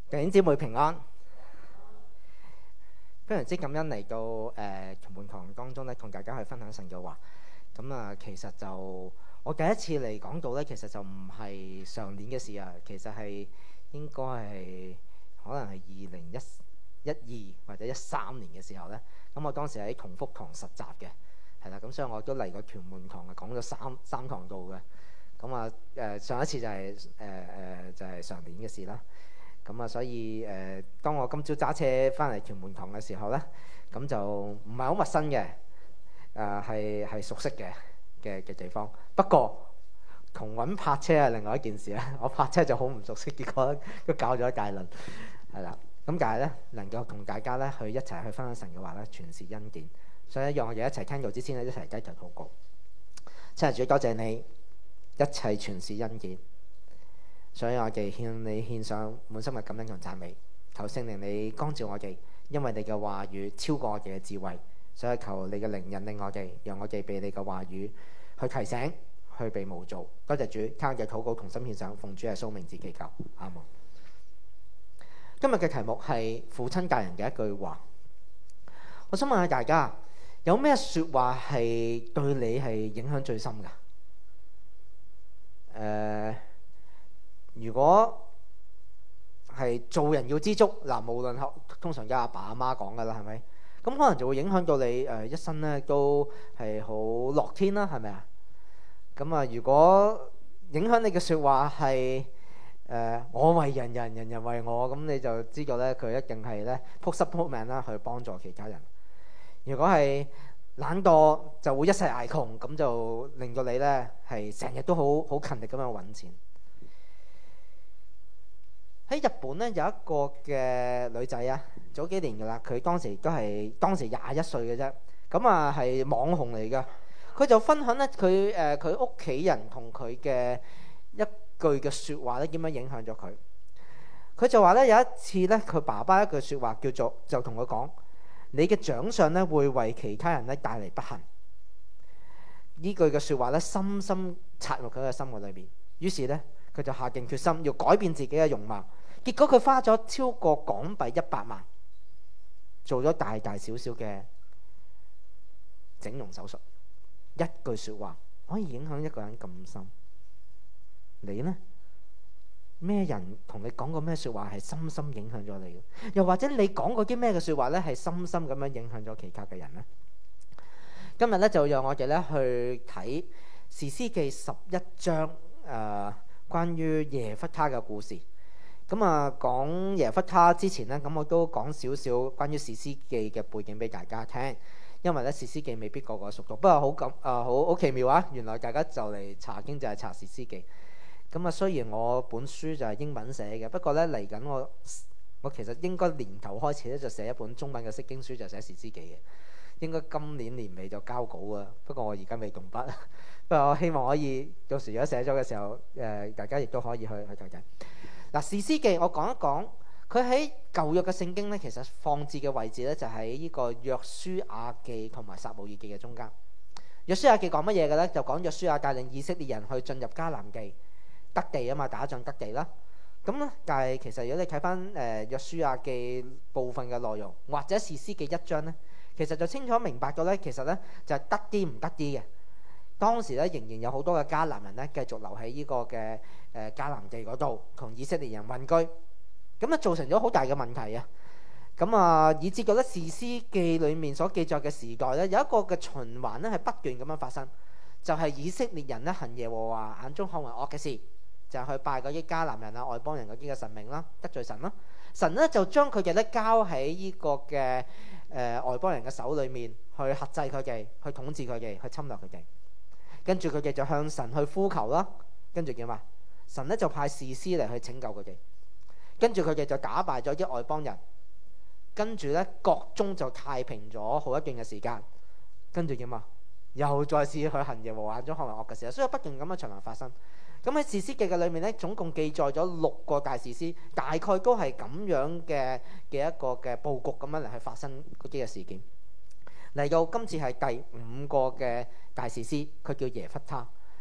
弟兄姊妹平安，非常之感恩嚟到同門堂當中咧，同大家去分享神嘅話。咁啊，其實就我第一次嚟講道咧，其實就唔係上年嘅事啊，其實係應該係可能係2012或者13年嘅時候咧。咁我當時喺同福堂實習嘅，係啦，咁所以我都嚟過屯門堂啊，講咗三堂道嘅。咁啊上一次就係上年嘅事啦。咁啊，所以當我今朝揸車翻嚟屯門堂嘅時候咧，咁就唔係好陌生嘅，係熟悉嘅地方。不過同揾泊車係另外一件事啦。我泊車就好唔熟悉，結果都搞咗一大輪，係啦。咁但係咧，能夠同大家咧去一齊去分享神嘅話咧，全是恩典。所以讓我哋一齊聽道之前咧，一齊低頭禱告。親愛主，多謝你，一切全是恩典。所以我哋向你獻上滿心嘅感恩同讚美，求聖靈你光照我哋，因為你嘅話語超過我哋嘅智慧，所以求你嘅靈引領我哋，讓我哋被你嘅話語去提醒，去被模造。多謝主，靠我嘅禱告同心獻上，奉主耶穌名字祈求，阿門。今日嘅題目係父親大人嘅一句話。我想問下大家，有咩說話係對你係影響最深㗎？如果係做人要知足嗱，無論通常有阿爸阿媽講噶啦，係咪？咁可能就會影響到你一生咧都係好樂天啦，係咪啊？咁啊，如果影響你嘅説話係我為人人，人人為我，咁你就知道咧佢一定係咧撲濕撲命啦去幫助其他人。如果係懶惰就會一世捱窮，咁就令到你咧係成日都好勤力咁樣揾錢。喺日本咧有一個嘅女仔啊，早幾年噶啦，佢當時21歲嘅啫，咁啊係網紅嚟噶。佢就分享咧佢屋企人同佢嘅一句嘅説話咧點樣影響咗佢。佢就話咧有一次咧，佢爸爸一句説話就同佢講：你嘅長相咧會為其他人咧帶嚟不幸。呢句嘅説話咧深深插入佢嘅心嘅裏面。於是咧佢就下定決心要改變自己嘅容貌。結果佢花咗超過港幣100萬，做咗大大小小嘅整容手術。一句説話可以影響一個人咁深。你呢？咩人同你講過咩説話係深深影響咗你？又或者你講過啲咩嘅説話咧係深深咁樣影響咗其他嘅人呢？今日咧就讓我哋咧去睇士師記11章關於耶弗他嘅故事。咁啊，講耶弗他之前呢，咁我都講少少關於士師記嘅背景俾大家聽，因為咧士師記未必個個熟讀，不過好奇妙啊！原來大家就嚟查經就係查士師記。咁啊，雖然我本書就係英文寫嘅，不過咧嚟緊我其實應該年頭開始咧就寫一本中文嘅釋經書，就寫士師記嘅。應該今年年尾就交稿啊，不過我而家未動筆。不過我希望可以到時如果寫咗嘅時候，大家亦都可以去睇睇。嗱，士師記我講一講，佢喺舊約嘅聖經咧，其實放置嘅位置咧就喺呢個約書亞記同埋撒母耳記嘅中間。約書亞記講乜嘢嘅咧？就講約書亞帶領以色列人去進入迦南地得地啊嘛，打仗得地啦。咁咧，但係其實如果你睇翻約書亞記部分嘅內容，或者士師記1章咧，其實就清楚明白到咧，其實咧就係得啲唔得啲嘅。當時咧仍然有好多嘅迦南人咧繼續留喺呢個嘅迦南地嗰度，同以色列人混居，咁啊造成咗好大嘅問題啊！咁啊以至覺得士師記裏面所記載嘅時代咧，有一個嘅循環咧係不斷咁樣發生，就係以色列人咧行耶和華眼中看為惡嘅事，就係去拜嗰啲迦南人啊、外邦人嗰啲嘅神明啦，得罪神啦。神咧就將佢哋咧交喺呢個嘅外邦人嘅手裏面，去轄制佢哋，去統治佢哋，去侵略佢哋。跟住佢哋就向神去呼求啦，跟住點啊？神咧就派士師嚟去拯救佢哋，跟住佢哋就打敗咗啲外邦人，跟住咧國中就太平咗好一段嘅時間，跟住點啊？又再試去行耶和華眼中看為惡嘅事，所以不斷咁樣循環發生。咁喺士師記嘅裏面咧，總共記載咗6個大士師，大概都係咁樣嘅一個嘅佈局咁樣嚟去發生嗰啲嘅事件。嚟到今次係第5個嘅大士師，佢叫耶弗他。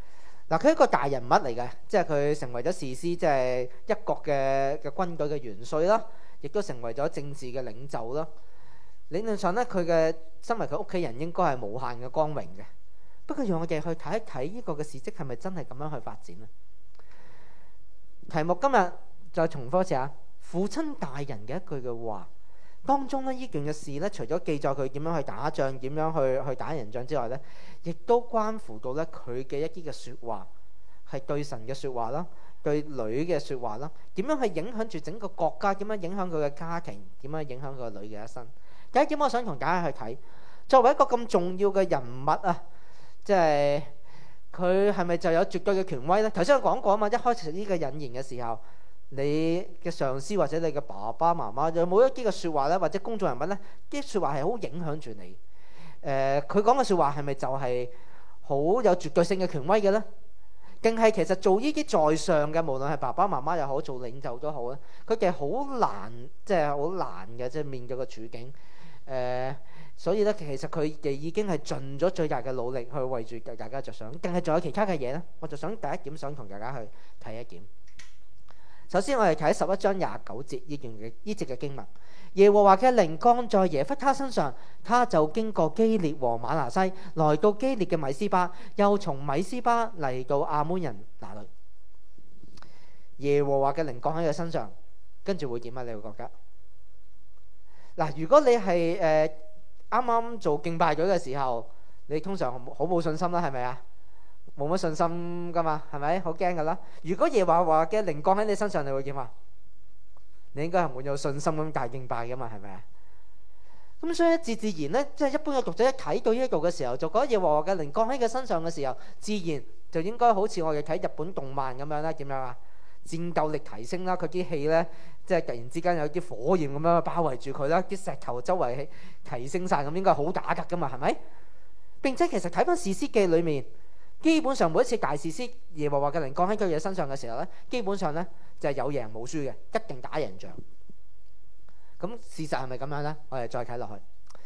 嗱，佢係一個大人物嚟嘅，即係佢成為咗士師，即係一國嘅軍隊嘅元帥啦，亦都成為咗政治嘅領袖啦。理論上咧，佢嘅身為佢屋企人應該係無限嘅光榮嘅。不過讓我哋去睇一睇呢個嘅事蹟係咪真係咁樣去發展呢？題目今日再重複一次啊，父親大人嘅一句嘅話當中呢，呢件嘅事呢，除咗記載佢點樣去打仗、點樣去打人仗之外呢，亦都關乎到呢佢嘅一啲嘅説話，係對神嘅説話啦，對女嘅説話啦，點樣去影響住整個國家，點樣影響佢嘅家庭，點樣影響佢個女嘅一生。第一點，我想同大家去睇，作為一個咁重要嘅人物啊，即係佢係咪就有絕對嘅權威呢？頭先我講過啊嘛，一開始呢個引言嘅時候，你嘅上司或者你嘅爸爸媽媽有冇一啲嘅説話呢？或者公眾人物呢？啲説話係好影響住你。佢講嘅説話係咪就係好有絕對性嘅權威嘅呢？定係其實做呢啲在上嘅，無論係爸爸媽媽又好，做領袖都好咧，佢哋好難，即係好難嘅，即係面對個處境。所以咧，其實佢哋已經係盡咗最大嘅努力去為住大家着想。定係仲有其他嘅嘢呢？我就想第一點想同大家去睇一點。首先我哋睇11章29節呢節嘅經文，耶和華嘅靈降在耶弗他身上，他就經過基列和瑪拿西，來到基列嘅米斯巴，又從米斯巴嚟到亞捫人那裏。耶和華嘅靈降喺佢身上，跟住會點啊？你會覺得嗱，如果你係啱啱做敬拜隊嘅時候，你通常好冇信心啦，係咪啊？冇乜信心噶嘛，係咪？好驚噶啦！如果耶和華嘅靈降喺你身上，你會點啊？你應該係滿有信心咁大敬拜噶嘛，係咪啊？咁所以自然咧，即係一般嘅讀者一睇到呢度嘅時候，就覺得耶和華嘅靈降喺佢身上嘅時候，自然就應該好似我哋睇日本動漫咁樣啦。點樣啊？戰鬥力提升啦，佢啲氣咧，即係突然之間有啲火焰咁樣包圍住佢啦，啲石頭周圍提升晒，咁應該好打得噶嘛，係咪？並且其實睇翻士師記裏面，基本上每一次大士師耶和華嘅靈降喺佢哋身上嘅時候咧，基本上咧就係有贏冇輸嘅，一定打贏仗。咁事實係咪咁樣呢？我哋再睇落去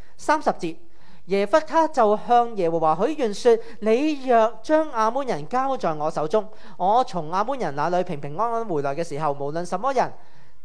30節，耶弗他就向耶和華許願說：你若將亞捫人交在我手中，我從亞捫人那裏平平安安回來嘅時候，無論什麼人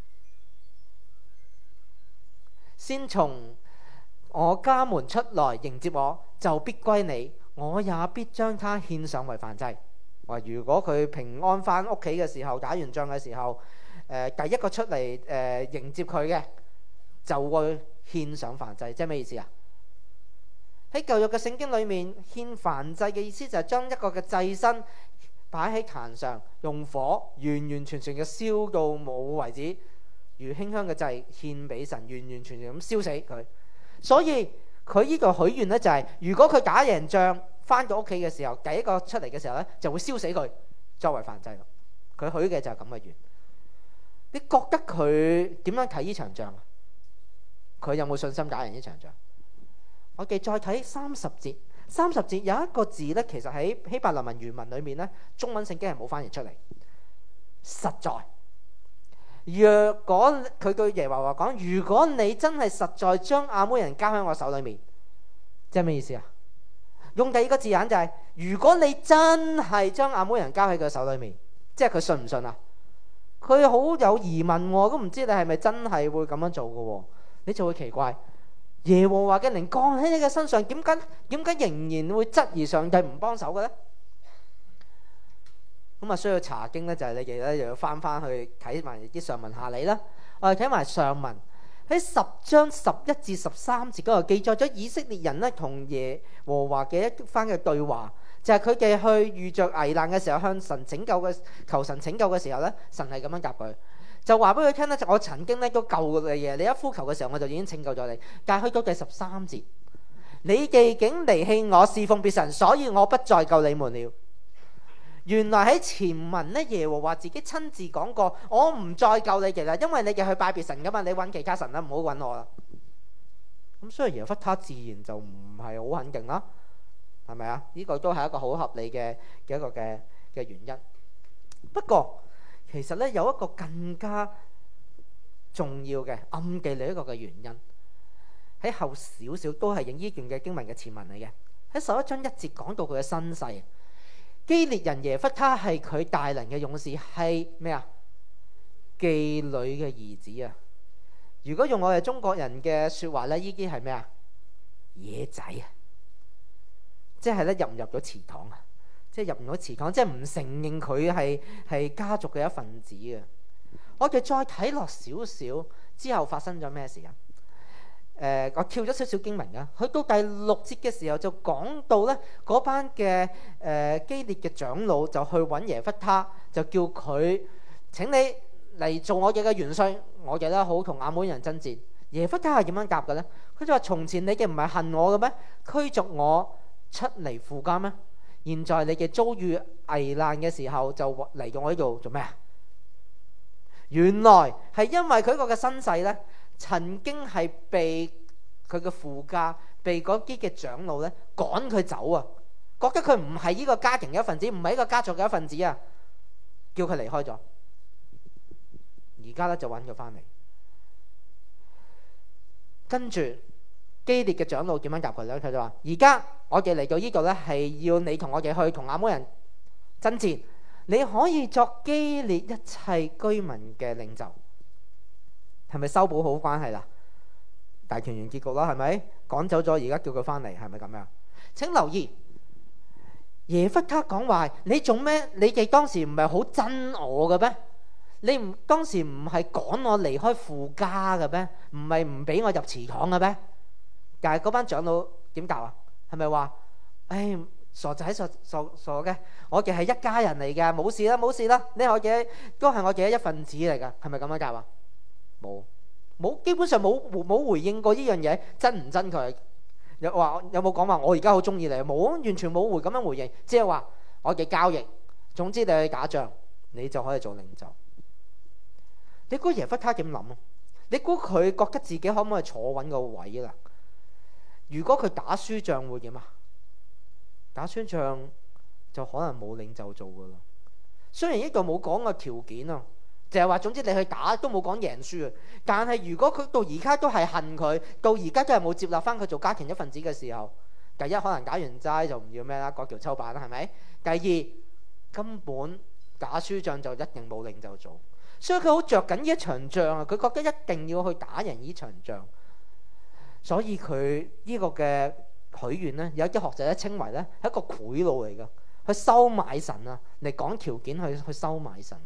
先從我家門出來迎接我，就必歸你，我也必將他獻上為燔祭。話如果佢平安翻屋企嘅時候，打完仗嘅時候，第一個出嚟迎接佢嘅，就會獻上燔祭。即係咩意思啊？喺舊約嘅聖經裏面，獻燔祭嘅意思就係將一個嘅祭牲擺喺壇上，用火完完全全嘅燒到冇為止，如馨香嘅祭獻俾神，完完全全咁燒死佢。所以佢呢個許願呢，就係如果佢打贏仗翻到屋企嘅時候，第一個出嚟嘅時候呢，就會燒死佢作為燔祭咯。佢許嘅就係咁嘅願。你覺得佢點樣睇呢場仗啊？佢有冇信心打贏呢場仗？我哋再睇30節，30節有一個字呢，其實喺希伯來文原文裏面呢，中文聖經係冇翻譯出嚟。實在，若果佢對耶和華講，如果你真係實在將亞捫人交喺我手裏面，即係咩意思啊？用第二個字眼就係，如果你真係將亞捫人交喺佢手裏面，即係佢信唔信啊？佢好有疑問喎，都唔知你係咪真係會咁樣做嘅喎，你就會奇怪。耶和華嘅靈降喺你嘅身上，點解仍然會質疑上帝唔幫手嘅呢？咁啊，需要查經呢，就係你哋咧又要翻去睇埋啲上文下理啦。我哋睇埋上文喺10章11至13節嗰度記載咗以色列人呢同耶和華嘅一番嘅對話，就係佢哋去遇着危難嘅時候向神拯救嘅求神拯救嘅時候呢，神係咁樣答佢。就話俾佢聽咧，我曾經咧都救過你嘅，你一呼求嘅時候我就已經拯救咗你。但係去到第13節，你哋竟離棄我，侍奉別神，所以我不再救你們了。原來喺前文咧，耶和華自己親自講過，我唔再救你哋啦，因為你哋去拜別神噶嘛，你揾其他神啦，唔好揾我啦。咁所以耶弗他自然就唔係好肯定啦，係咪啊？呢個都係一個好合理嘅一個嘅原因。不過其實咧有一個更加重要嘅暗記另一個嘅原因，喺後少少都係影呢段嘅經文嘅前文嚟嘅。喺11章1節講到佢嘅身世， 基列人耶弗他係佢大能嘅勇士，係咩啊？妓女嘅兒子啊！如果用我哋中國人嘅說話咧，呢啲係咩啊？野仔啊！即係咧入唔入咗祠堂啊？即係入唔到祠堂，即係唔承認佢係家族嘅一份子啊！我哋再睇落少少之後發生咗咩事啊？我跳咗少少經文啊，去到第6節嘅時候就講到咧，嗰班嘅基列嘅長老就去揾耶弗他，就叫佢請你嚟做我哋嘅元帥，我哋咧好同亞捫人爭戰。耶弗他係點樣答嘅咧？佢就話：從前你哋唔係恨我嘅咩？驅逐我出嚟父家咩？現在你哋遭遇危難嘅時候，就嚟到我呢度做咩啊？原來係因為佢個嘅身世咧，曾經係被佢嘅父家、被嗰啲嘅長老咧趕佢走啊，覺得佢唔係呢個家庭嘅一份子，唔係呢個家族嘅一份子啊，叫佢離開咗。而家咧就揾佢翻嚟，跟住基列嘅長老點樣答佢咧？佢就話：而家我哋嚟到呢度咧，係要你同我哋去同亞捫人爭戰，你可以作基列一切居民嘅領袖。係咪修補好關係啦？大團圓結局啦，係咪？趕走咗，而家叫佢翻嚟，係咪咁樣？請留意耶弗他講話：你做咩？你哋當時唔係好憎我嘅咩？你唔當時唔係趕我離開父家嘅咩？唔係唔俾我入祠堂嘅咩？但係嗰班長老點答啊？係咪話：唉，傻仔傻嘅，我哋係一家人嚟嘅，冇事啦冇事啦，你我嘅都係我嘅一份子嚟㗎，係咪咁樣答啊？冇，基本上冇回應過呢樣嘢，憎唔憎佢？有冇講話我而家好中意你？冇，完全冇咁樣回應，即係話我嘅交易。總之你去打仗，你就可以做領袖。你估耶弗他點諗啊？你估佢覺得自己可唔可以坐穩個位啦？如果佢打輸仗會點啊？打輸仗就可能冇領袖做噶啦。雖然呢度冇講個條件啊。就係話，總之你去打都冇講贏輸啊！但係如果佢到而家都係恨佢，到而家都係冇接納翻佢做家庭一份子嘅時候，第一可能打完齋就唔要咩啦，割橋抽板啦，係咪？第二根本打輸仗就一定冇領袖做，所以佢好着緊呢一場仗啊！佢覺得一定要去打贏呢場仗，所以佢呢個嘅許願呢，有啲學者咧稱為咧係一個賄賂嚟㗎，去收買神啊，嚟講條件去收買神。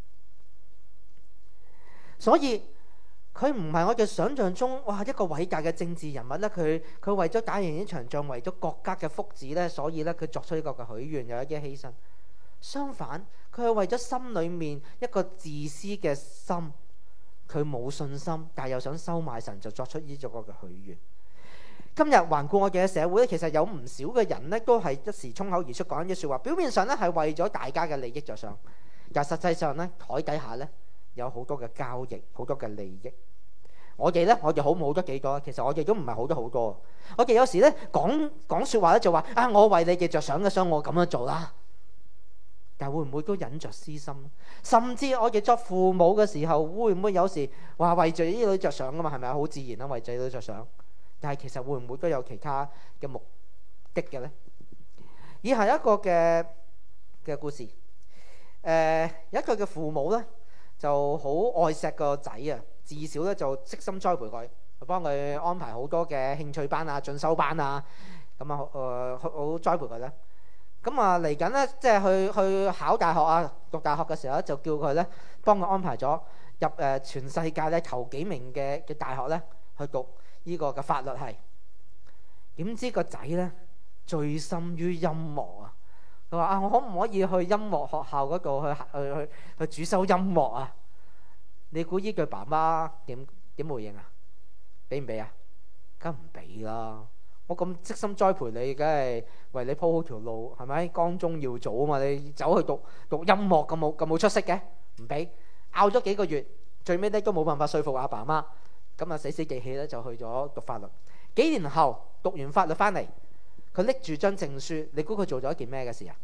所以佢唔係我哋想象中哇一個偉大嘅政治人物咧，佢為咗打贏呢場仗，為咗國家嘅福祉咧，所以咧佢作出呢個嘅許願，有一啲犧牲。相反，佢係為咗心裏面一個自私嘅心，佢冇信心，但係又想收買神，就作出呢個嘅許願。今日環顧我哋嘅社會咧，其實有唔少嘅人咧，都係一時衝口而出講一啲説話，表面上咧係為咗大家嘅利益着想，但實際上咧台底下咧，有好多嘅交易，好多嘅利益。我哋好唔好得幾多？其實我哋都唔係好得好多。我哋有時咧講説話咧就話啊，我為你哋着想嘅，所以我咁樣做啦。但會唔會都忍着私心？甚至我哋作父母嘅時候，會唔會有時話為住呢女着想噶嘛？係咪好自然啦，為仔女着想。但係其實會唔會都有其他嘅目的嘅咧？以下一個嘅故事，有一個嘅父母咧，就好愛錫個仔啊，自小咧就悉心栽培佢，幫佢安排好多嘅興趣班啊、進修班啊，咁啊好栽培佢咧。咁啊嚟緊咧，即係去考大學啊，讀大學嘅時候咧，就叫佢咧幫佢安排咗入全世界咧頭幾名嘅大學咧去讀呢個嘅法律系。點知個仔咧醉心於音樂啊！佢話啊，我可唔可以去音樂學校嗰度去主修音樂啊？你估呢句爸媽點回應啊？俾唔俾啊？梗唔俾啦！我咁悉心栽培你，梗係為你鋪好條路，係咪？光宗耀祖啊嘛！你走去讀音樂咁冇出息嘅，唔俾。拗咗幾個月，最尾咧都冇辦法說服阿爸媽，咁啊死死記氣咧就去咗讀法律。幾年後讀完法律翻嚟，佢拎住張證書，你估佢做咗一件咩嘅事啊？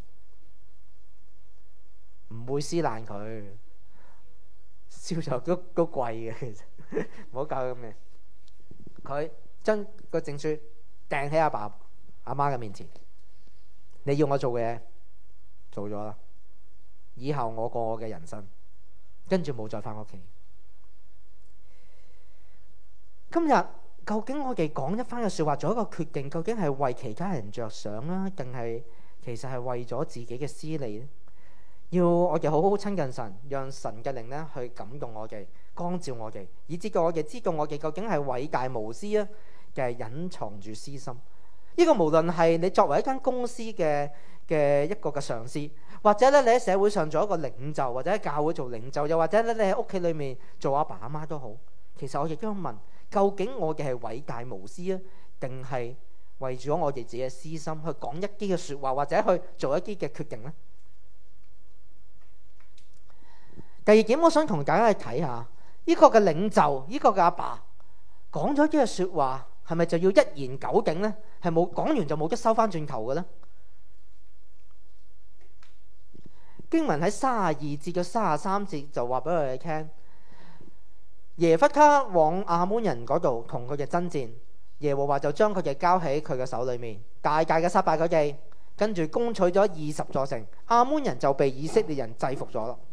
唔會撕爛佢，銷售都貴嘅，其實唔好搞咁嘅。佢將個證書掟喺阿爸阿媽嘅面前，你要我做嘅嘢做咗啦，以後我過我嘅人生，跟住冇再翻屋企。今日究竟我哋講一番嘅説話，做一個決定，究竟係為其他人着想啦，定係其實係為咗自己嘅私利呢？要我哋好好親近神，讓神嘅靈呢去感動我哋，光照我哋，以至到我哋知道我哋究竟係偉大無私啊，定係隱藏住私心。呢個無論係你作為一間公司嘅一個嘅上司，或者咧你喺社會上做一個領袖，或者喺教會做領袖，又或者咧你喺屋企裏面做阿爸阿媽都好，其實我亦都問，究竟我哋係偉大無私啊，定係為咗我哋自己嘅私心去講一啲嘅説話，或者去做一啲嘅決定呢？第二點，我想同大家去睇下呢個嘅領袖，呢個嘅阿爸講咗啲嘅説話，係咪就要一言九鼎呢？係冇講完就冇得收翻轉頭嘅呢？經文喺32節到33節就話俾我哋聽，耶弗他往亞捫人嗰度同佢哋爭戰，耶和華就將佢哋交喺佢嘅手裏面，大大嘅殺敗佢哋，跟住攻取咗20座城，亞捫人就被以色列人制服咗啦。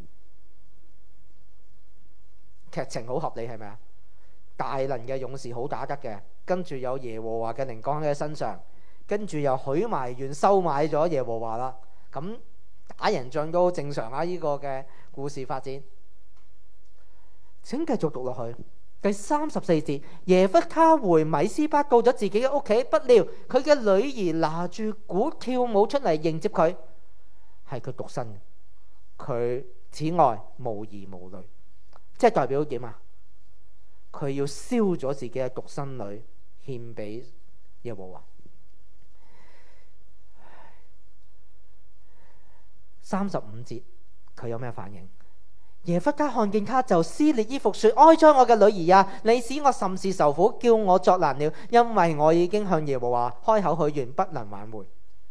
劇情好合理係咪啊？大能嘅勇士好打得嘅，跟住有耶和華嘅靈降喺佢身上，跟住又許埋願收買咗耶和華啦。咁打人仗都好正常啊！呢個嘅故事發展，請繼續讀落去。第34節，耶弗他回米斯巴到咗自己嘅屋企，不料佢嘅女兒拿住鼓跳舞出嚟迎接佢，係佢獨生嘅，佢此外無兒無女，即係代表點啊？佢要燒咗自己嘅獨生女獻俾耶和華。35節佢有咩反應？耶弗他看見他就撕裂衣服說：哀哉我嘅女兒啊，你使我甚是受苦，叫我作難了，因為我已經向耶和華開口許願，不能挽回。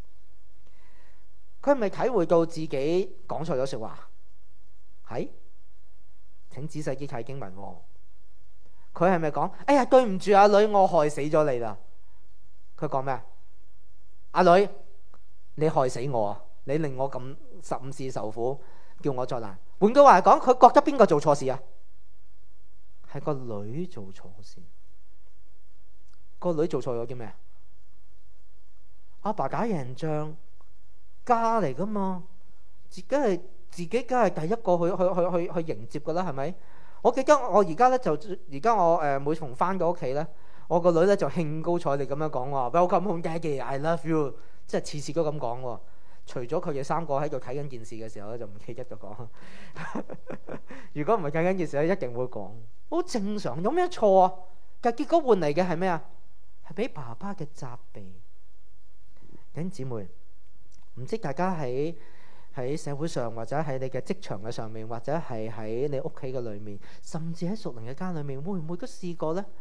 佢係咪體會到自己講錯咗說話？係，請仔細啲睇經文。佢係咪講：哎呀，對唔住阿女，我害死咗你啦？佢講咩？阿女，你害死我啊！你令我咁甚是受苦，叫我作難。換句話嚟講，佢覺得邊個做錯事啊？係個女做錯事。個女做錯咗啲咩？阿爸打贏仗，家嚟噶嘛，自己梗係第一個去迎接噶啦，係咪？我記得我而家咧就而家我每逢翻到屋企咧，我個女咧就興高采烈咁樣講話 Welcome home, Daddy, I love you， 即係次次都咁講喎。除咗佢哋三個喺度睇緊電視嘅時候咧，就唔記得咗講。如果唔係睇緊電視咧，一定會講。好正常，有咩錯啊？但結果換嚟嘅係咩啊？係俾爸爸嘅責備。弟兄姊妹，唔知大家喺社會上，或者喺你嘅職場嘅上面，或者係喺你屋企嘅裏面，甚至喺屬靈嘅家裏面，會唔會都試過呢？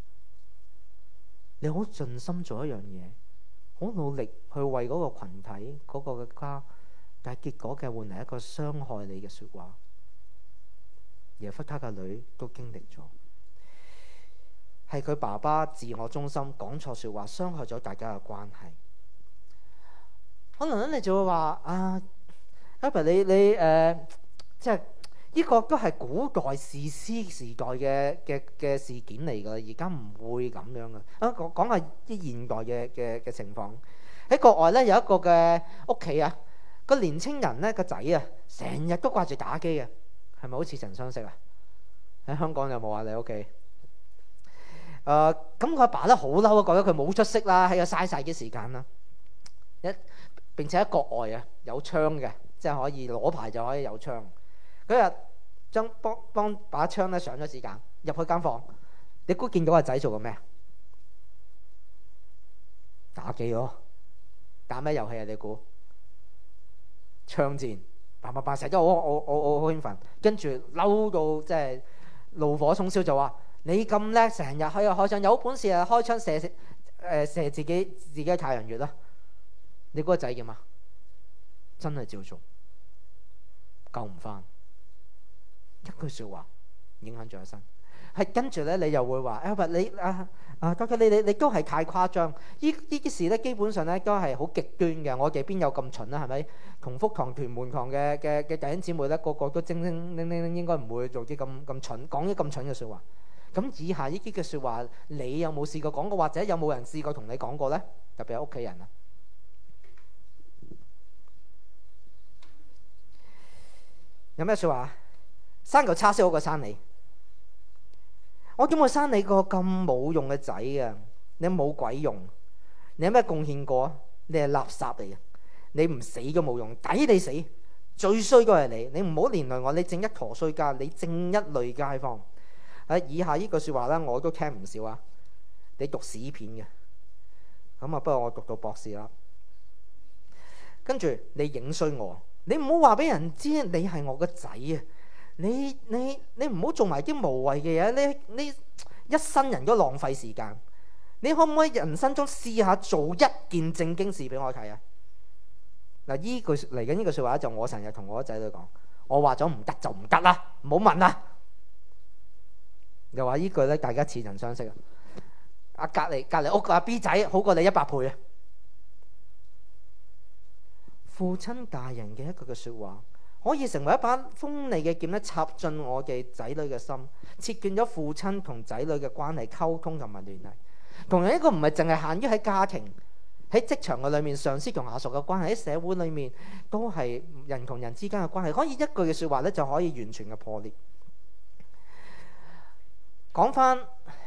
你好盡心做一樣嘢，好努力去為嗰個群體、嗰個嘅家，但係結果嘅換嚟一個傷害你嘅說話。耶弗他嘅女都經歷咗，係佢爸爸自我中心講錯說話，傷害咗大家嘅關係。可能你就會話啊，Albert 你即係呢個都係古代士師時代嘅事件嚟㗎，而家唔會咁樣㗎。講下啲現代嘅情況。喺國外咧有一個嘅屋企啊，個年青人咧個仔啊，成日都掛住打機啊，係咪好似曾相識啊？喺香港有冇啊？你屋企？咁佢阿爸咧好嬲啊，覺得佢冇出息啦，喺度嘥晒啲時間啦。並且喺國外啊有槍嘅，即係可以攞牌就可以有槍。嗰日將幫把槍咧上咗子彈入去間房，你估見到個仔做緊咩？打機咯，打咩遊戲啊？你估？槍戰，叭成日都好興奮，跟住嬲到即係怒火中燒，就話你咁叻，成日喺度開槍，有本事啊開槍射自己嘅太陽穴啦！你嗰個仔點啊？真係照做，救唔翻，一句說話影響咗一生。 係跟住咧，你又會話 Albert 究竟你都係太誇張。呢啲事咧，基本上咧都係好極端嘅。我哋邊有咁蠢啊？係咪？同福堂、屯門堂嘅弟兄姊妹咧，個個都精靈，應該唔會做啲咁蠢，講啲咁蠢嘅説話。咁以下呢啲嘅説話，你有冇試過講過，或者有冇人試過同你講過咧？特別係屋企人啊。有咩説話？生嚿叉燒好過生你。我點會生你個咁冇用嘅仔啊？你冇鬼用，你有咩貢獻過？你係垃圾嚟嘅，你唔死都冇用，抵你死。最衰都係你，你唔好連累我，你正一坨衰家，你正一類街坊。以下呢句説話咧，我都聽唔少啊。你讀屎片嘅，咁啊，不過我讀到博士啦。跟住你影衰我，你唔好話俾人知你係我個仔啊！你唔好做埋啲無謂嘅嘢，你一生人都浪費時間。你可唔可以人生中試下做一件正經事俾我睇啊？嗱，依句嚟緊呢句説話就我成日同我仔女講，我話咗唔得就唔得啦，唔好問啦。又話呢句咧，大家似曾相識啊！隔離屋個阿 B 仔好過你100倍啊！父親大人嘅一句嘅説話，可以成為一把鋒利嘅劍咧，插進我嘅仔女嘅心，切斷咗父親同仔女嘅關係溝通同埋聯繫。同樣一個唔係淨係限於喺家庭、喺職場嘅裏面，上司同下屬嘅關係，喺社會裏面都係人同人之間嘅關係。可以一句嘅説話咧，就可以完全嘅破裂。講翻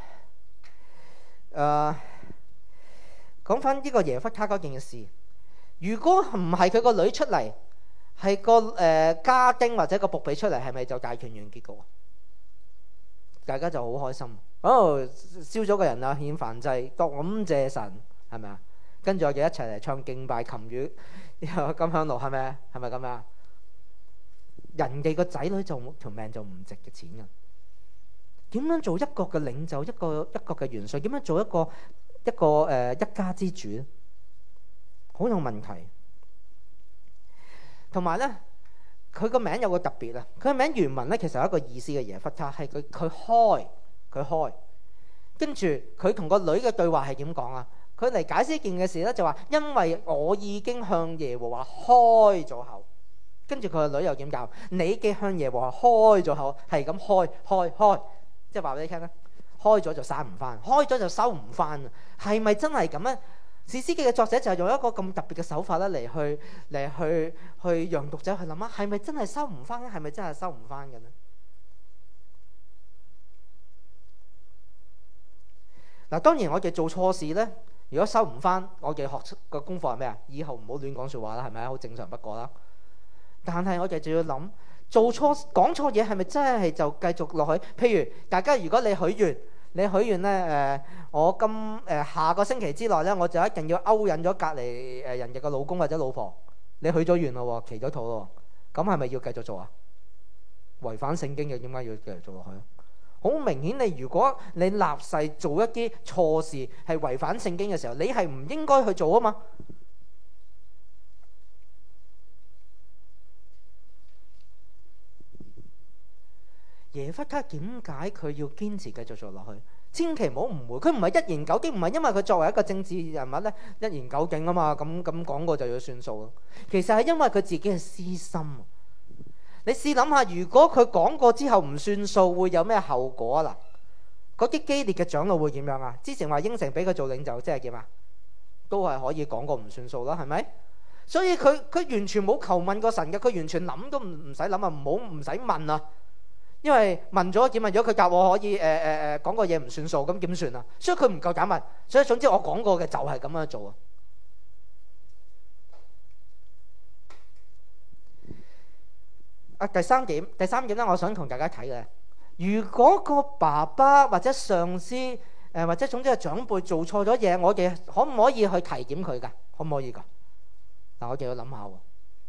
呢個耶弗他嗰件事，如果唔係佢個女出嚟，係個家丁或者個僕婢出嚟，係咪就大團圓結局？大家就好開心。燒咗個人啊，獻燔祭，感謝神，係咪啊？跟住我哋一齊嚟唱敬拜琴語，金香爐，係咪咁樣？人哋個仔女就條命就唔值嘅錢㗎。點樣做一國嘅領袖，一個嘅元帥？點樣做一家之主咧？好有問題。同埋咧，佢個名有個特別啊！佢個名原文咧其實有一個意思嘅，耶弗他係佢開，跟住佢同個女嘅對話係點講啊？佢嚟解釋一件嘅事咧，就話因為我已經向耶和華開咗口，跟住佢個女又點教？你嘅向耶和華開咗口，係咁開。即係話俾你聽咧，開咗就閂唔翻，開咗就收唔翻。係咪真係咁咧？士師記嘅作者就係用一個咁特別嘅手法咧，嚟去讓讀者去諗啊，係咪真係收唔翻咧？係咪真係收唔翻嘅咧？嗱，當然我哋做錯事咧，如果收唔翻，我哋學嘅功課係咩啊？以後唔好亂講説話啦，係咪啊？好正常不過啦。但係我哋就要諗。做錯講錯嘢係咪真係就繼續落去？譬如大家如果你許願咧我下個星期之內咧，我就一定要勾引咗隔離人哋嘅老公或者老婆。你許咗願咯，祈咗禱咯，咁係咪要繼續做啊？違反聖經嘅，點解要繼續做落去？好明顯，你如果你立誓做一啲錯事係違反聖經嘅時候，你係唔應該去做啊嘛。耶弗他點解佢要堅持繼續做落去？千祈唔好誤會，佢唔係一言九鼎，唔係因為佢作為一個政治人物咧一言九鼎啊嘛，咁講過就要算數咯。其實係因為佢自己嘅私心。你試諗下，如果佢講過之後唔算數，會有咩後果啊？嗱，嗰啲基列嘅長老會點樣啊？之前話應承俾佢做領袖，即係點啊？都係可以講過唔算數啦，係咪？所以佢完全冇求問過神嘅，佢完全諗都唔使諗啊，唔使問啊。因為問咗點問咗佢答我可以講個嘢唔算數，咁點算啊？所以佢唔夠膽問，所以總之我講過嘅就係咁樣做啊。第三點咧，我想同大家睇嘅，如果個爸爸或者上司或者總之係長輩做錯咗嘢，我哋可唔可以去提點佢㗎？可唔可以㗎？嗱，我哋要諗下喎。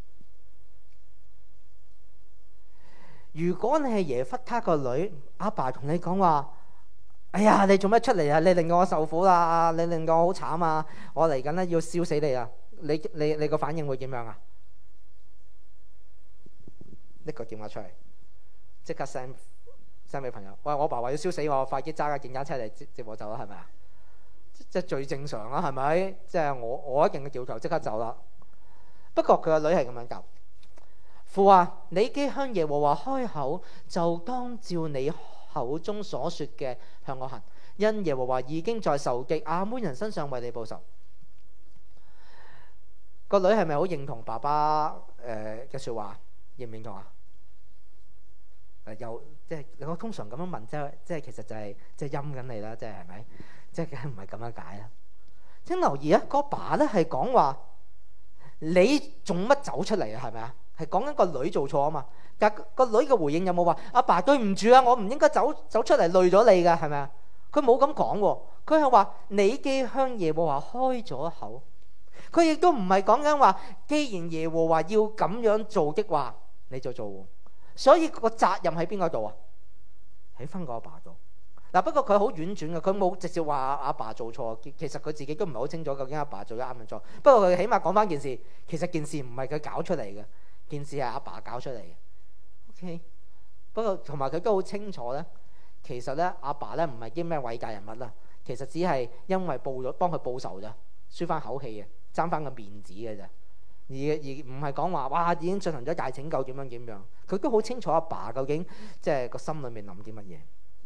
如果你係耶弗他個女，阿爸同你講話，哎呀，你做咩出嚟啊？你令到我受苦啦，你令到我好慘啊！我嚟緊咧要燒死你啊！你個反應會點樣啊？拎個電話出嚟，即刻 send send 俾朋友，喂，我爸話要燒死我，快啲揸架電單車嚟接我走啦，係咪啊？即係最正常啦，係咪？即係我一定嘅要求，即刻走啦。不過佢個女係咁樣教：父啊，你既向耶和華開口，就當照你口中所說嘅向我行，因耶和華已經在仇敵亞捫人身上為你報仇。個女係咪好認同爸爸嘅説話？認唔認同啊？又即係我通常咁樣問，即係其實就係即係陰緊你啦，即係係咪？即係梗係唔係咁樣解啦？請留意啊，個爸咧係講話你做乜走出嚟啊？係咪啊？係講緊個女做錯啊嘛。但個女嘅回應有冇話阿爸對唔住啊？我唔應該走出嚟累咗你㗎，係咪啊？佢冇咁講喎，佢係話你既向耶和華開咗口。佢亦都唔係講緊話，既然耶和華要咁樣做的話，你就做。所以個責任喺邊個度啊？喺返個阿爸度。嗱，不過佢好婉轉嘅，佢冇直接話阿爸做錯。其實佢自己都唔係好清楚究竟阿爸做咗啱定錯。不過佢起碼講返件事，其實件事唔係佢搞出嚟嘅，件事係阿爸搞出嚟嘅。OK， 不過同埋佢都好清楚咧，其實咧阿爸咧唔係啲咩偉大人物啦，其實只係因為幫佢報仇咋，舒翻口氣嘅，爭翻個面子嘅咋，而唔係講話哇已經進行咗大拯救點樣，佢都好清楚阿爸究竟即係個心裏面諗啲乜嘢。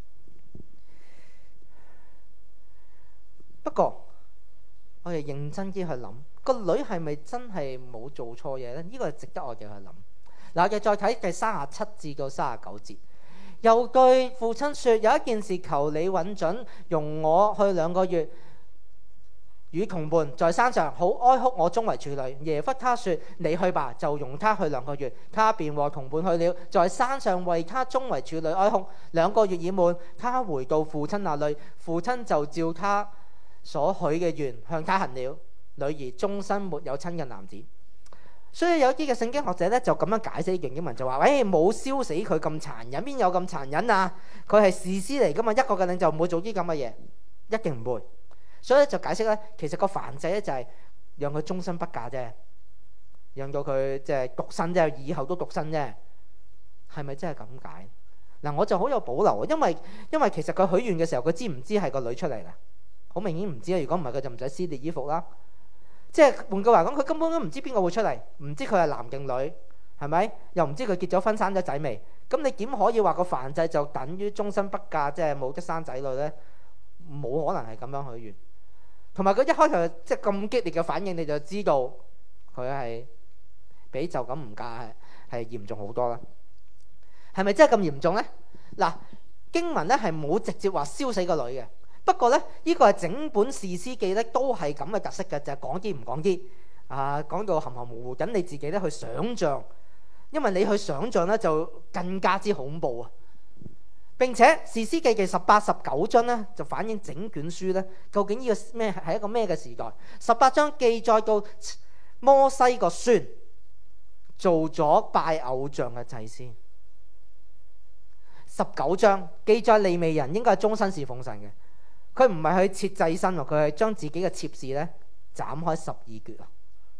不過我哋認真啲去諗，個女係咪真係冇做錯嘢咧？呢個係值得我哋去諗。嗱，我哋再睇第37至到39節，又對父親說：有一件事求你允准，容我去2個月，與同伴在山上好哀哭我中為處女。耶弗他說：你去吧，就容他去2個月。他便和同伴去了，在山上為他中為處女哀哭。2個月已滿，他回到父親那裏，父親就照他所許嘅願向他行了。女兒終身沒有親近男子。所以有啲嘅聖經學者咧就咁樣解釋呢段經文，就話：喂，冇燒死佢咁殘忍，邊有咁殘忍啊？佢係士師嚟噶嘛，一個嘅領袖唔會做啲咁嘅嘢，一定唔會。所以就解釋咧，其實個燔祭咧就係讓佢終身不嫁啫，讓到佢即係獨身啫，以後都獨身啫，係咪真係咁解？嗱，我就好有保留，因為其實佢許願嘅時候，佢知唔知係個女出嚟啦？好明顯唔知啊！如果唔係，佢就唔使撕裂衣服啦。即係換句話講，佢根本都唔知邊個會出嚟，唔知佢係男定女，係咪？又唔知佢結咗婚生咗仔未？咁你點可以話個燔祭就等於終身不嫁，即係冇得生仔女呢？冇可能係咁樣許願。同埋佢一開頭即係咁激烈嘅反應，你就知道佢係比就咁唔嫁係嚴重好多啦。係咪真係咁嚴重呢？嗱，經文咧係冇直接話燒死個女嘅。不過咧，呢個係整本士師記咧都係咁嘅特色嘅，就係講啲唔講啲啊，講到含含糊糊，等你自己咧去想像，因為你去想像咧就更加之恐怖啊！並且士師記嘅18、19章咧就反映整卷書咧究竟呢個咩係一個咩嘅時代。18章記載到摩西個孫做咗拜偶像嘅祭司。19章記載利未人應該係終身侍奉神嘅。佢唔係去切祭牲，佢係將自己嘅妾侍咧斬開12橛啊！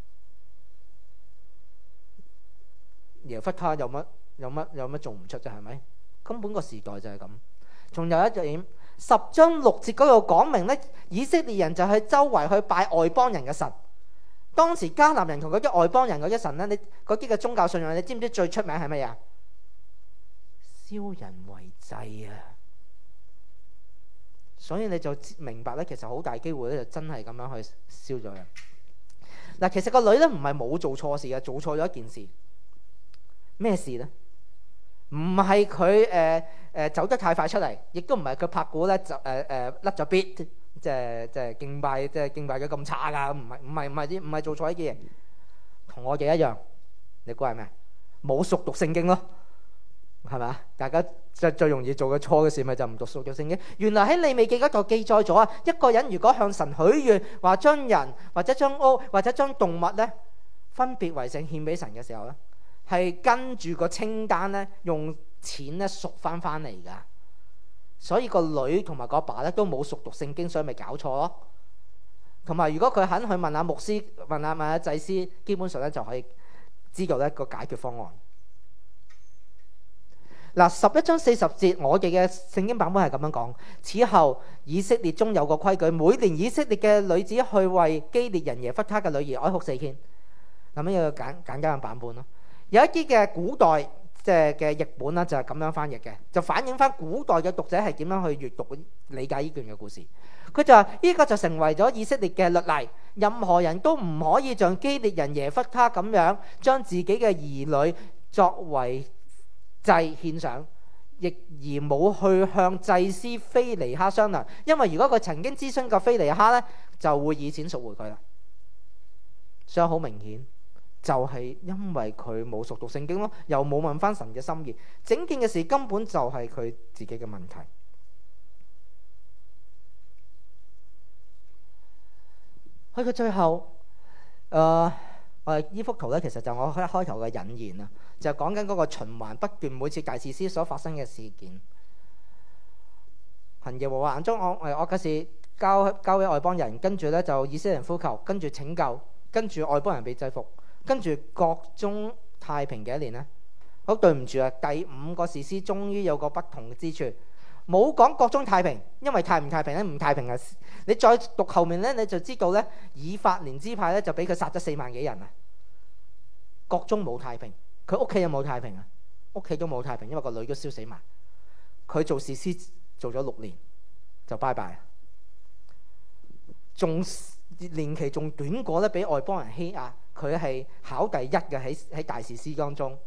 耶弗他有乜做唔出啫？係咪？根本個時代就係咁。仲有一點，10章6節嗰度講明咧，以色列人就係周圍去拜外邦人嘅神。當時迦南人同嗰啲外邦人嗰啲神咧，你嗰啲嘅宗教信仰，你知唔知最出名係乜嘢？燒人為祭啊！所以你就明白咧，其實好大機會咧，就真係咁樣去燒咗人。嗱，其實個女咧唔係冇做錯事嘅，做錯咗一件事。咩事咧？唔係佢走得太快出嚟，亦都唔係佢拍鼓咧就甩咗 beat，即係敬拜嘅咁差噶，唔係做錯呢啲嘢。同我哋一樣，你估係咩？冇熟讀聖經咯。係咪？大家最容易做嘅錯嘅事咪就唔讀熟讀聖經。原來喺利未記嗰度記載咗啊，一個人如果向神許願，話將人或者將屋或者將動物咧分別為聖獻俾神嘅時候咧，係跟住個清單咧用錢咧贖翻嚟㗎。所以個女同埋個爸咧都冇熟讀聖經，所以咪搞錯咯。同埋如果佢肯去問下牧師、問下祭司，基本上咧就可以知道咧個解決方案。 嗱，11章40節，我哋嘅聖經版本係咁樣講：此後以色列中有個規矩，每年以色列嘅女子去為基列人耶弗他嘅女兒哀哭4天。咁樣有個簡單嘅版本咯。有一啲嘅古代即係嘅譯本啦，就係咁樣翻譯嘅，就反映翻古代嘅讀者係點樣去閱讀理解呢段嘅故事。佢就話呢個就成為咗以色列嘅律例，任何人都唔可以像基列人耶弗他咁樣將自己嘅兒女作為祭獻上，亦而冇去向祭司非尼哈商量，因為如果佢曾經諮詢過非尼哈呢，就會以錢贖回佢啦。所以好明顯，就係因為佢冇熟讀聖經咯，又冇問翻神嘅心意，整件嘅事根本就係佢自己嘅問題。去到最後，我哋呢幅圖咧，其實就我一開頭嘅引言啊，就講緊嗰個循環不斷，每次大士師所發生嘅事件。行耶和華眼中惡嘅事交俾外邦人，跟住咧就以色列人呼求，跟住拯救，跟住外邦人被制服，跟住國中太平嘅一年呢。好對唔住啊，第5個士師終於有個不同之處。冇講國中太平，因為太唔太平咧，唔太平啊！你再讀後面咧，你就知道咧，以法蓮支派咧就俾佢殺咗4萬幾人啊！國中冇太平，佢屋企有冇太平啊？屋企都冇太平，因為個女都燒死埋。佢做士師做咗6年就拜拜，仲年期仲短過咧，俾外邦人欺壓。佢係考第1嘅喺大士師當中。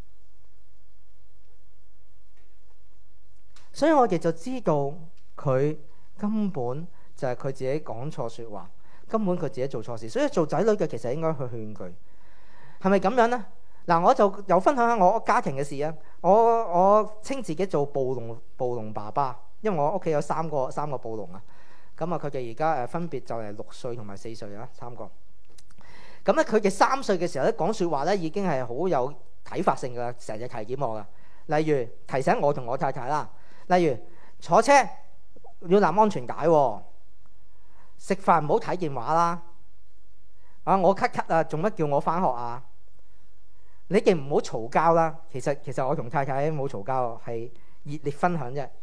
所以我哋就知道佢根本就係佢自己講錯說話，根本佢自己做錯事。所以做仔女嘅其實應該去勸佢，係咪咁樣呢？嗱，我就又分享下我家庭嘅事啊。我稱自己做暴龍爸爸，因為我屋企有三個暴龍啊。咁啊，佢哋而家分別就係6歲同埋4歲啊，3個。咁咧，佢哋3歲嘅時候咧講說話咧已經係好有啟發性噶，成日提點我噶。例如提醒我同我太太啦。例如坐車要攬安全帶，食飯唔好睇電話啦。我咳咳啊，做乜叫我返學啊？你哋唔好嘈交啦。其實我同太太冇嘈交，係熱烈分享啫。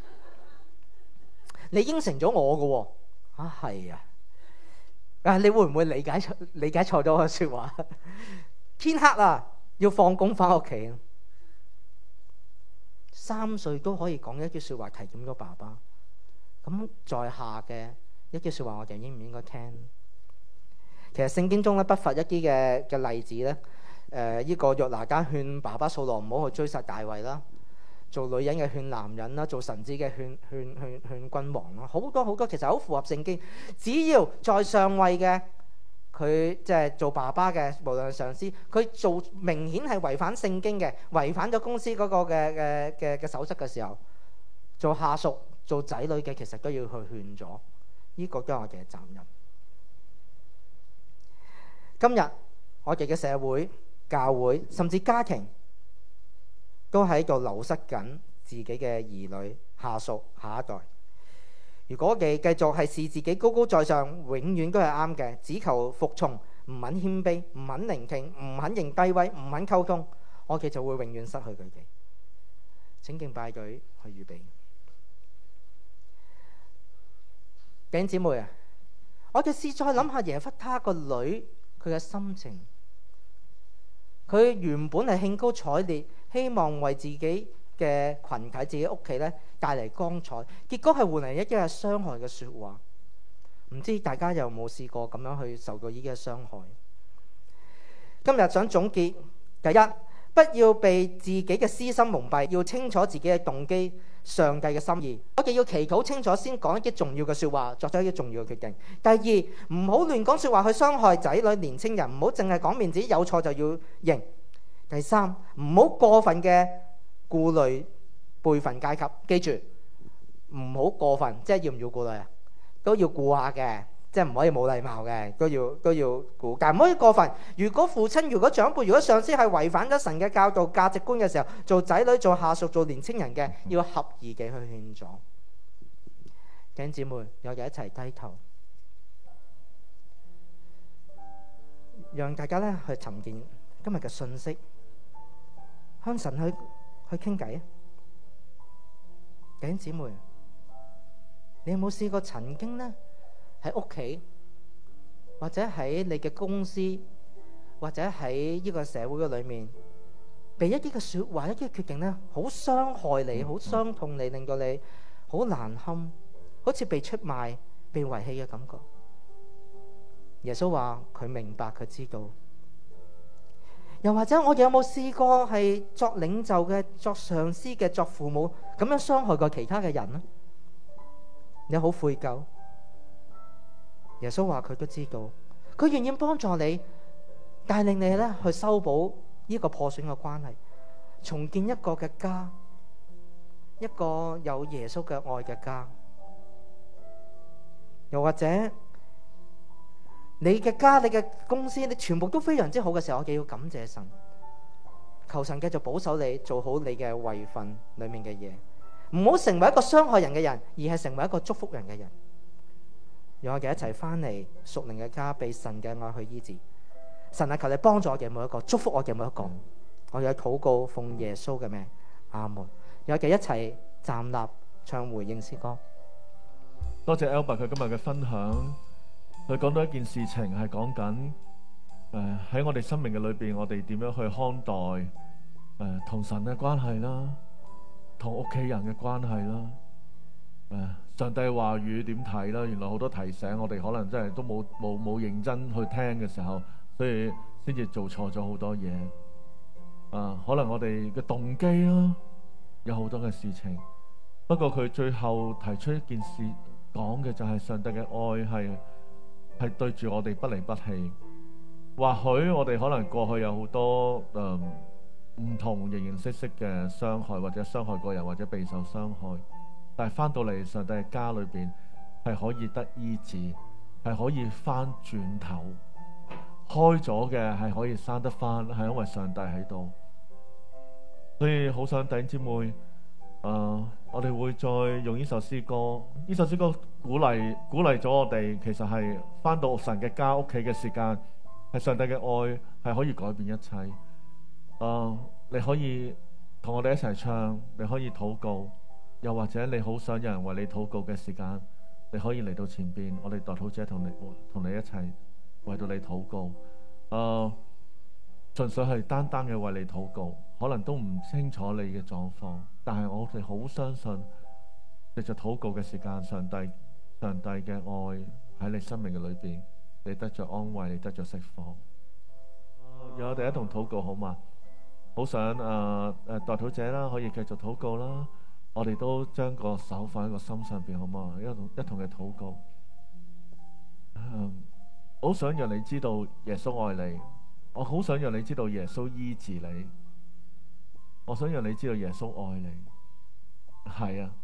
你應承咗我嘅喎，係啊，你會唔會理解錯咗我嘅説話？天黑啦，要放工返屋企。3歲都可以講一句説話提點咗爸爸，咁在下嘅一句説話，我哋應唔應該聽？其實聖經中咧不乏一啲嘅例子咧，呢個約拿單勸爸爸掃羅唔好去追殺大衛啦，做女人嘅勸男人啦，做臣子嘅勸君王啦，好多其實好符合聖經。只要在上位嘅，佢即係做爸爸嘅，無論係上司，佢做明顯係違反聖經嘅，違反咗公司嗰個嘅守則嘅時候，做下屬、做仔女嘅，其實都要去勸咗。呢個都係我哋嘅責任。今日我哋嘅社會、教會甚至家庭，都喺度流失緊自己嘅兒女、下屬、下一代。如果我哋繼續係視自己高高在上，永遠都係啱嘅，只求服從，唔肯謙卑，唔肯聆聽，唔肯認低威，唔肯溝通，我哋就會永遠失去佢哋。請敬拜隊去預備。弟兄姊妹啊，我哋試再諗下耶弗他個女佢嘅心情。佢原本係興高采烈，希望為自己嘅群體、自己屋企咧帶嚟光彩，結果係換嚟一啲係傷害嘅説話。唔知大家有冇試過咁樣去受到呢啲嘅傷害？今日想總結，第一，不要被自己嘅私心蒙蔽，要清楚自己嘅動機、上帝嘅心意。我哋要祈禱清楚先講一啲重要嘅説話，作出一啲重要嘅決定。第二，唔好亂講説話去傷害仔女、年青人，唔好淨係講面子，有錯就要認。第三，唔好過分嘅顧慮輩份階級，記住唔好過分，即係要唔要顧慮啊？都要顧下嘅，即係唔可以冇禮貌嘅，都要顧，但唔可以過分。如果父親、如果長輩、如果上司係違反咗神嘅教導、價值觀嘅時候，做仔女、做下屬、做年青人嘅，要合宜嘅去勸阻。弟兄姊妹，我哋一齊低頭，讓大家咧去沉澱今日嘅信息，向神去傾偈啊！ 弟兄姊妹，你有冇試過曾經呢？喺屋企，或者喺你嘅公司，或者喺呢個社會嘅裏面，被一啲嘅說話、一啲嘅決定呢，好傷害你、好傷痛你，令到你好難堪，好似被出賣、被遺棄嘅感覺。耶穌話佢明白，佢知道。又或者我哋有冇試過係作領袖嘅、作上司嘅、作父母咁樣傷害過其他嘅人呢？你好悔疚。耶穌話佢都知道，佢願意幫助你，帶領你咧去修補呢個破損嘅關係，重建一個嘅家，一個有耶穌嘅愛嘅家。又或者你嘅家、你嘅公司，你全部都非常之好嘅時候，我哋要感謝神，求神繼續保守你，做好你嘅位份裏面嘅嘢，唔好成為一個傷害人嘅人，而係成為一個祝福人嘅人。讓我哋一齊翻嚟屬靈嘅家，被神嘅愛去醫治。神啊，求你幫助我哋每一個，祝福我哋每一個。我哋嘅禱告奉耶穌嘅名，阿門。讓我哋一齊站立唱回應詩歌。 多謝 Albert 佢今日嘅分享，佢講到一件事情係講緊喺我哋生命嘅裏邊，我哋點樣去看待同神嘅關係啦，同屋企人嘅關係啦。上帝話語點睇啦？原來好多提醒我哋，可能真係都冇認真去聽嘅時候，所以先至做錯咗好多嘢。可能我哋嘅動機啦，有好多嘅事情。不過佢最後提出一件事，講嘅就係上帝嘅愛係對住我哋不離不棄。或許我哋可能過去有好多唔同形形色色嘅傷害，或者傷害過人，或者備受傷害。但係翻到嚟上帝嘅家裏邊，係可以得醫治，係可以翻轉頭，開咗嘅係可以生得翻，係因為上帝喺度。所以好想弟兄姊妹，我哋會再用呢首詩歌，呢首詩歌鼓勵咗我哋，其實係翻到神嘅家屋企嘅時間，係上帝嘅愛係可以改變一切。你可以同我哋一齊唱，你可以禱告。又或者你好想有人為你禱告嘅時間，你可以嚟到前邊，我哋代禱者同你一齊為到你禱告。純粹係單單嘅為你禱告，可能都唔清楚你嘅狀況，但係我哋好相信，藉着禱告嘅時間，上帝嘅愛喺你生命嘅裏邊，你得着安慰，你得着釋放。讓我哋一同禱告好嗎？好想代禱者啦，可以繼續禱告啦。我哋都將個手放喺個心上邊，好嗎？一同嘅禱告。好想讓你知道耶穌愛你，我好想讓你知道耶穌醫治你，我想讓你知道耶穌愛你。係啊，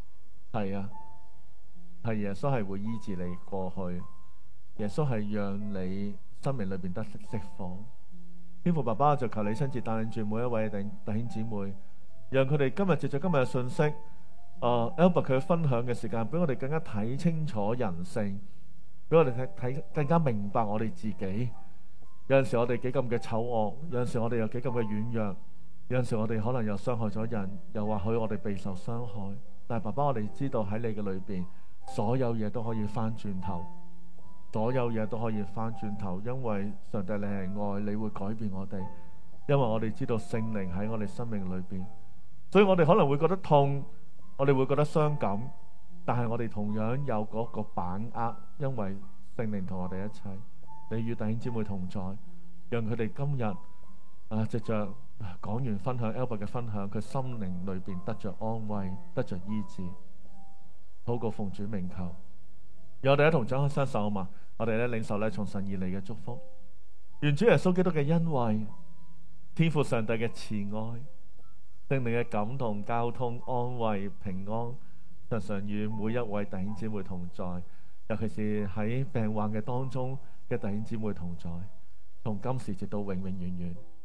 係耶穌係會醫治你過去，耶穌係讓你生命裏邊得釋放。天父爸爸，就求你親自帶領住每一位弟兄姊妹，讓佢哋今日藉着今日嘅信息，Albert 佢分享嘅時間，俾我哋更加睇清楚人性，俾我哋睇更加明白我哋自己。有陣時我哋幾咁嘅醜惡，有陣時我哋有幾咁嘅軟弱，有陣時我哋可能又傷害咗人，又或許我哋備受傷害。但係爸爸，我哋知道喺你嘅裏邊，所有嘢都可以翻轉頭，所有嘢都可以翻轉頭，因為上帝你係愛，你會改變我哋，因為我哋知道聖靈喺我哋生命裏邊，所以我哋可能會覺得痛，我哋會覺得傷感，但係我哋同樣有嗰個把握，因為聖靈同我哋一齊，你與弟兄姊妹同在，讓佢哋今日藉着講完分享 Albert 嘅分享，佢心靈裏邊得着安慰，得着醫治。禱告奉主名求，讓我哋一同張開雙手啊嘛！我哋咧領受咧從神而嚟嘅祝福，願主耶穌基督嘅恩惠、天父上帝嘅慈愛、聖靈嘅感動、交通、安慰、平安，常常與每一位弟兄姊妹同在，尤其是喺病患嘅當中嘅弟兄姊妹同在，從今時直到永永遠遠。